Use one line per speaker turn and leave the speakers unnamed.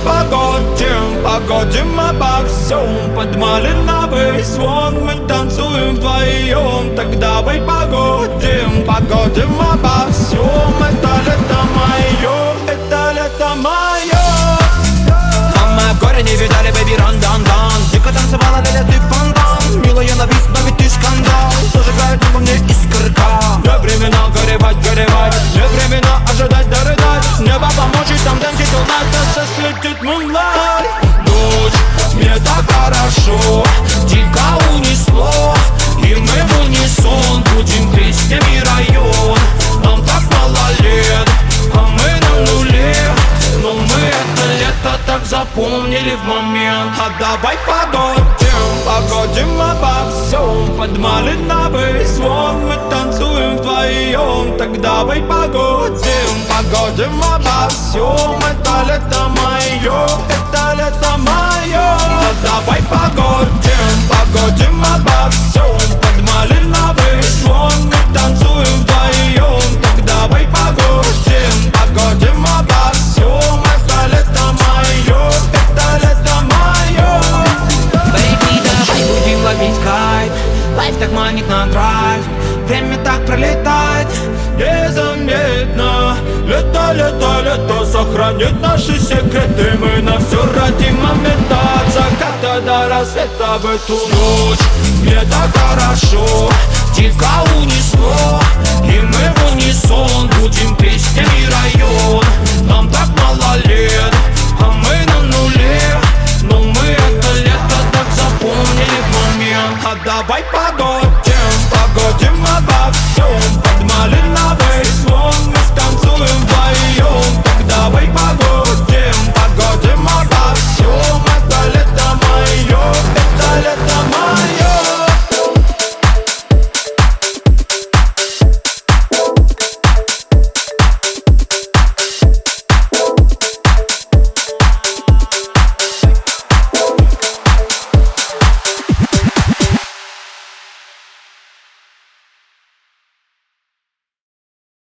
поговорим обо всем. Под малиновый звон мы танцуем вдвоем. Так давай поговорим обо всем. Это лето мое, это лето мое. Мама, горе не видали, baby, ран-дан-дан. Дико танцевала, ля-ля, ты фонтан. Милая на вид, но ведь ты скандал. Зажигает во мне искорка. Не времена горевать, не времена ожидать, дорыдать. Небо помочь, там танцить all night, нас осветит moonlight. Ночь, мне так хорошо, дико унесло. И мы в унисон будем песнями район. Нам так мало лет, а мы на нуле. Но мы это лето так запомнили в момент. А давай поговорим обо всем. Под малиновый звон мы танцуем вдвоем. Так давай поговорим обо всем. Это лето мое, это лето мое. А давай поговорим обо всем. Под малиновый звон мы танцуем вдвоем. Так давай поговорим обо всем. Это лето мое, это лето мое.
Baby, давай будем ловить кайф. Лайф так манит на драйв. Время так пролетает
незаметно. Лето, лето, лето сохранит наши секреты. Мы на все ради момента. От заката до рассвета в эту ночь. Мне так хорошо, дико унесло. И мы в унисон будем